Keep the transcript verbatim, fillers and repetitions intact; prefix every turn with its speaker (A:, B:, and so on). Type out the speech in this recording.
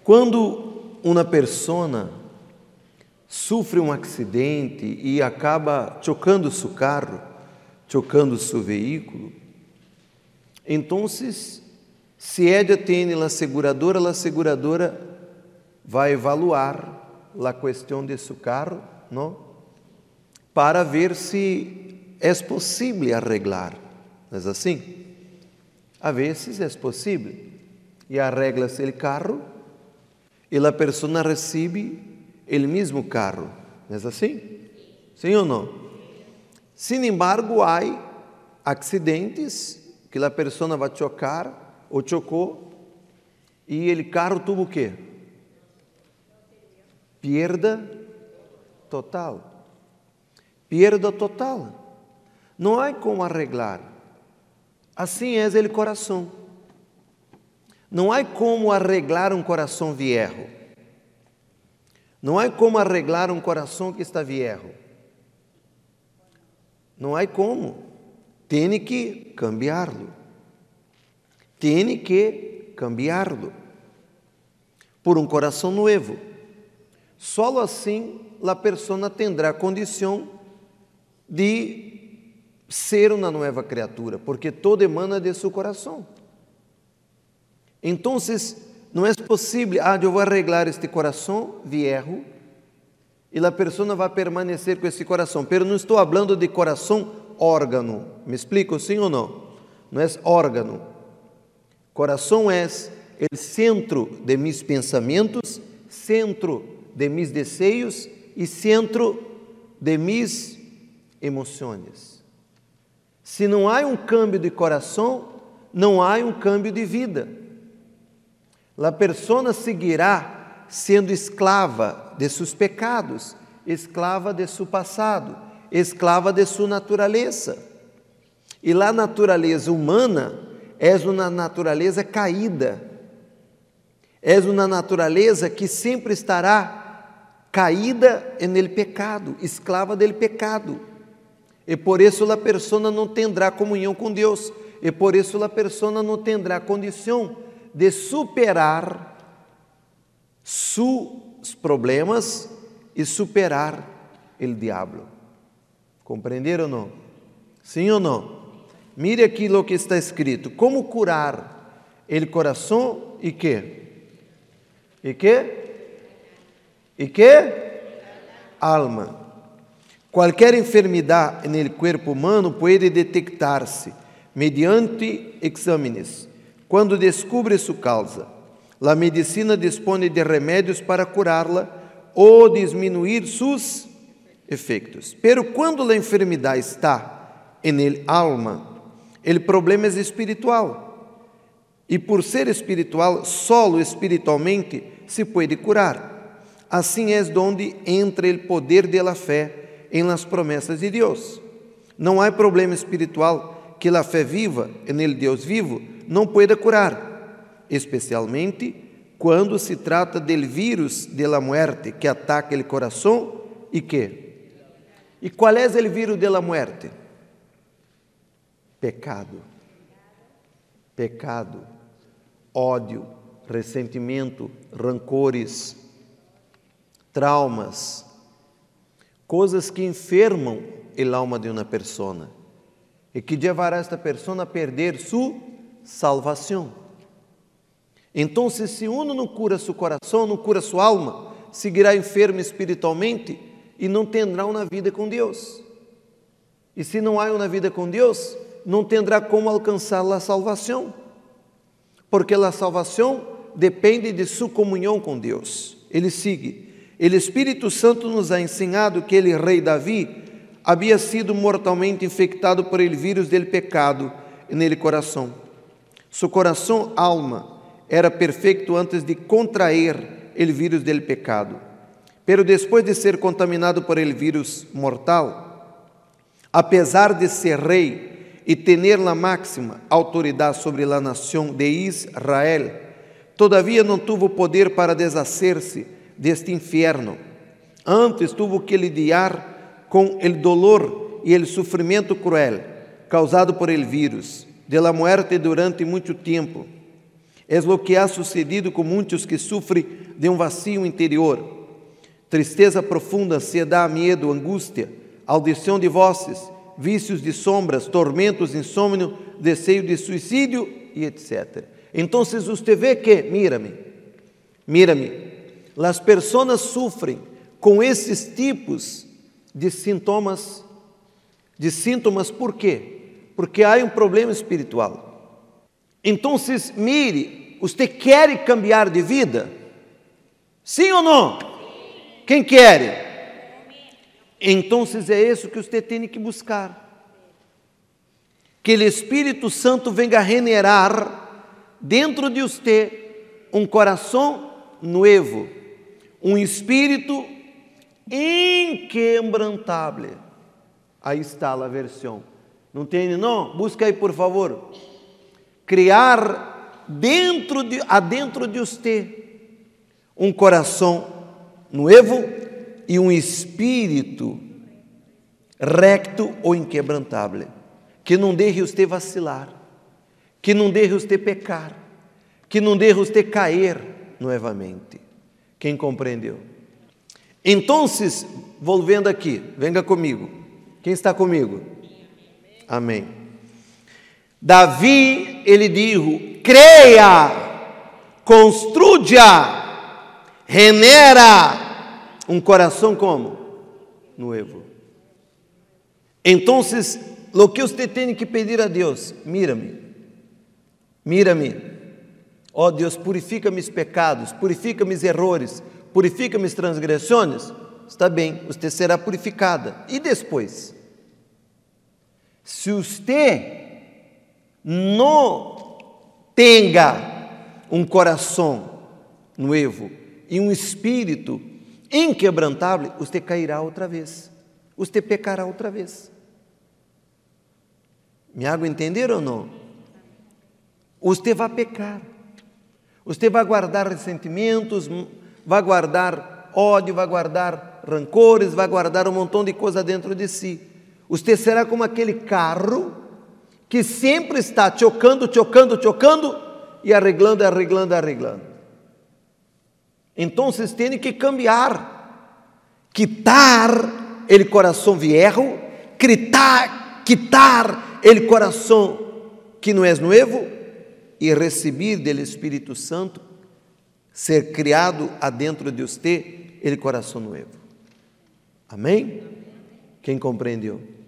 A: Quando uma pessoa sofre um acidente e acaba chocando seu carro, chocando seu veículo, então, se ela tem a seguradora, a seguradora vai evaluar a questão de seu carro, não? Para ver se é possível arreglar. Não é assim? A vezes é possível. E arregla-se o carro e a pessoa recebe o mesmo carro. Não é assim? Sim ou não? Sin embargo, há acidentes que a pessoa vai chocar ou chocou e o carro teve o quê? Perda total. Perda total. Não há como arreglar. Assim é o coração. Não há como arreglar um coração viejo. Não há como arreglar um coração que está viejo. Não há como. Tem que cambiá-lo. Tem que cambiá-lo por um coração novo. Só assim a pessoa terá condição de ser uma nova criatura, porque todo emana de seu coração. Então, não é possível, ah, eu vou arreglar este coração viejo e a pessoa vai permanecer com esse coração. Pero não estou falando de coração órgano. Me explico, sim ou não? Não é órgano. Coração é o centro de mis pensamentos, centro de mis desejos e centro de mis emoções. Se não há um câmbio de coração, não há um câmbio de vida. A pessoa seguirá sendo esclava de seus pecados, esclava de seu passado, esclava de sua natureza. E a natureza humana é uma natureza caída. É uma natureza que sempre estará caída no pecado, esclava do pecado. E por isso a pessoa não terá comunhão com Deus. E por isso a pessoa não terá condição de superar seus problemas e superar o diabo. Compreenderam ou não? Sim ou não? Mire aqui o que está escrito. Como curar o coração e quê? E quê? E quê? Alma. Qualquer enfermidade no corpo humano pode detectar-se mediante exames. Quando descobre sua causa, a medicina dispõe de remédios para curá-la ou diminuir seus efeitos. Pero quando a enfermidade está en alma, o problema é espiritual. E por ser espiritual, solo espiritualmente se pode curar. Assim é donde entra o poder de la fé em las promessas de Deus. Não há problema espiritual que a fé viva en Deus vivo não pueda curar, especialmente quando se trata del vírus de la muerte que ataca o coração e que? E qual é o vírus de la muerte? Pecado. Pecado, ódio, ressentimento, rancores, traumas, coisas que enfermam a alma de uma pessoa e que levará esta pessoa a perder sua salvação. Então, se uno não cura seu coração, não cura sua alma, seguirá enfermo espiritualmente e não terá uma vida com Deus. E se não há uma vida com Deus, não terá como alcançar a salvação, porque a salvação depende de sua comunhão com Deus. Ele sigue. O Espírito Santo nos ha ensinado que o rei Davi havia sido mortalmente infectado por el vírus del pecado nele coração. Su coração, alma, era perfeito antes de contrair el vírus del pecado. Pero depois de ser contaminado por el vírus mortal, apesar de ser rei e ter a máxima autoridade sobre a nação de Israel, todavia não tuvo poder para deshacer-se deste inferno. Antes tuvo que lidiar com o dolor e o sofrimento cruel causado por el vírus, de la muerte durante muito tempo. É o que ha sucedido com muitos que sofrem de um vazio interior, tristeza profunda, ansiedade, medo, angústia, audição de vozes, vícios de sombras, tormentos, insônia, desejo de suicídio e etcétera. Então, você vê que, mira-me, mira-me, as pessoas sofrem com esses tipos de sintomas, de sintomas, por quê? Porque há um problema espiritual. Então, mire, você quer cambiar de vida? Sim ou não? Quem quer? Então, é isso que você tem que buscar. Que o Espírito Santo venga a generar dentro de você um coração novo, um espírito inquebrantável. Aí está a versão. Não tem, não? Busca aí, por favor. Criar dentro de, adentro de você um coração novo e um espírito recto ou inquebrantável, que não deixe você vacilar, que não deixe você pecar, que não deixe você cair novamente. Quem compreendeu? Então, volvendo aqui, venga comigo. Quem está comigo? Amém. Davi, ele disse: creia, construya, genera um coração como? Novo. Então, o que você tem que pedir a Deus? Mira-me, mira-me. Ó Deus, purifica meus pecados, purifica meus errores, purifica minhas transgressões. Está bem, você será purificada. E depois? Se você não tenha um coração novo e um espírito inquebrantável, você cairá outra vez, você pecará outra vez. Me hago entender ou não? Você vai pecar, você vai guardar ressentimentos, vai guardar ódio, vai guardar rancores, vai guardar um montão de coisa dentro de si. Você será como aquele carro que sempre está chocando, chocando, chocando e arreglando, arreglando, arreglando. Então, vocês têm que cambiar, quitar o coração viejo, quitar, quitar o coração que não é novo e receber do Espírito Santo, ser criado adentro de você o coração novo. Amém? Quem compreendeu?